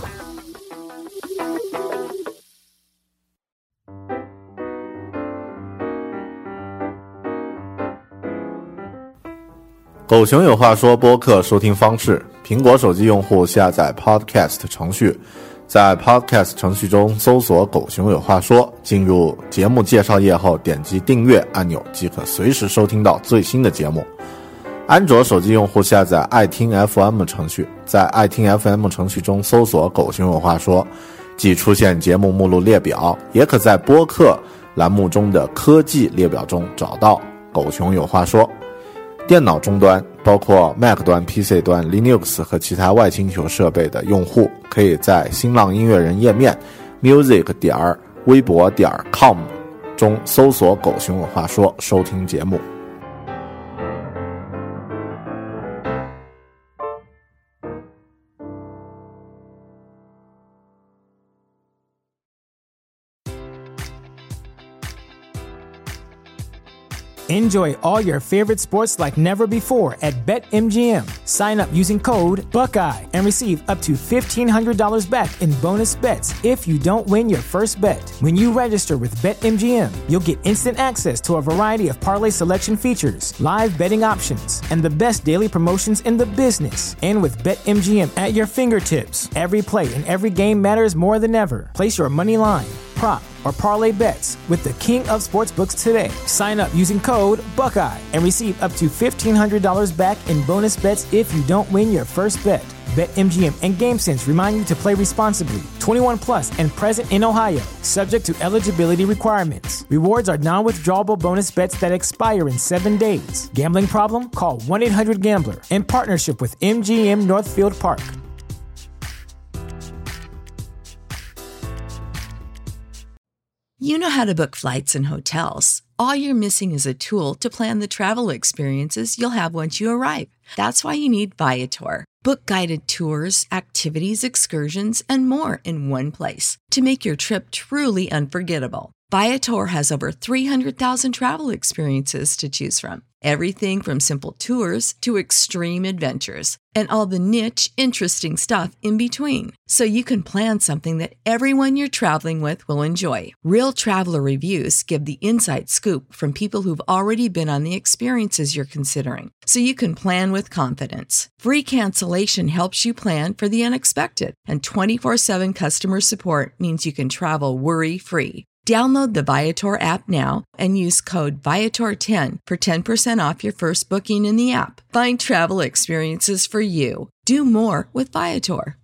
Speaker 3: 狗熊有话说播客收听方式：苹果手机用户下载 Podcast 程序，在 Podcast 程序中搜索狗熊有话说，进入节目介绍页后点击订阅按钮，即可随时收听到最新的节目。安卓手机用户下载爱听 FM 程序，在爱听 FM 程序中搜索狗熊有话说，即出现节目目录列表，也可在播客栏目中的科技列表中找到狗熊有话说。电脑终端包括 Mac 端、PC 端、Linux 和其他外星球设备的用户，可以在新浪音乐人页面 music.微博.com 中搜索狗熊有话说收听节目。
Speaker 1: Enjoy all your favorite sports like never before at BetMGM. Sign up using code Buckeye and receive up to $1,500 back in bonus bets if you don't win your first bet. When you register with BetMGM, you'll get instant access to a variety of parlay selection features, live betting options, and the best daily promotions in the business. And with BetMGM at your fingertips, every play and every game matters more than ever. Place your money line, prop, or parlay bets with the king of sportsbooks today. Sign up using code Buckeye and receive up to $1,500 back in bonus bets if you don't win your first bet. BetMGM and GameSense remind you to play responsibly. 21 plus and present in Ohio, subject to eligibility requirements. Rewards are non-withdrawable bonus bets that expire in 7 days. Gambling problem? Call 1-800-GAMBLER. In partnership with MGM Northfield Park.
Speaker 2: You know how to book flights and hotels. All you're missing is a tool to plan the travel experiences you'll have once you arrive. That's why you need Viator. Book guided tours, activities, excursions, and more in one place to make your trip truly unforgettable. Viator has over 300,000 travel experiences to choose from. Everything from simple tours to extreme adventures and all the niche, interesting stuff in between. So you can plan something that everyone you're traveling with will enjoy. Real traveler reviews give the inside scoop from people who've already been on the experiences you're considering. So you can plan with confidence. Free cancellation helps you plan for the unexpected. And 24/7 customer support means you can travel worry-free. Download the Viator app now and use code Viator10 for 10% off your first booking in the app. Find travel experiences for you. Do more with Viator.